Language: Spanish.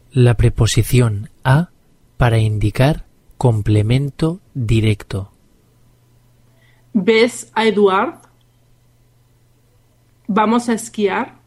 La preposición a para indicar complemento directo. ¿Ves a Eduard? ¿Vamos a esquiar?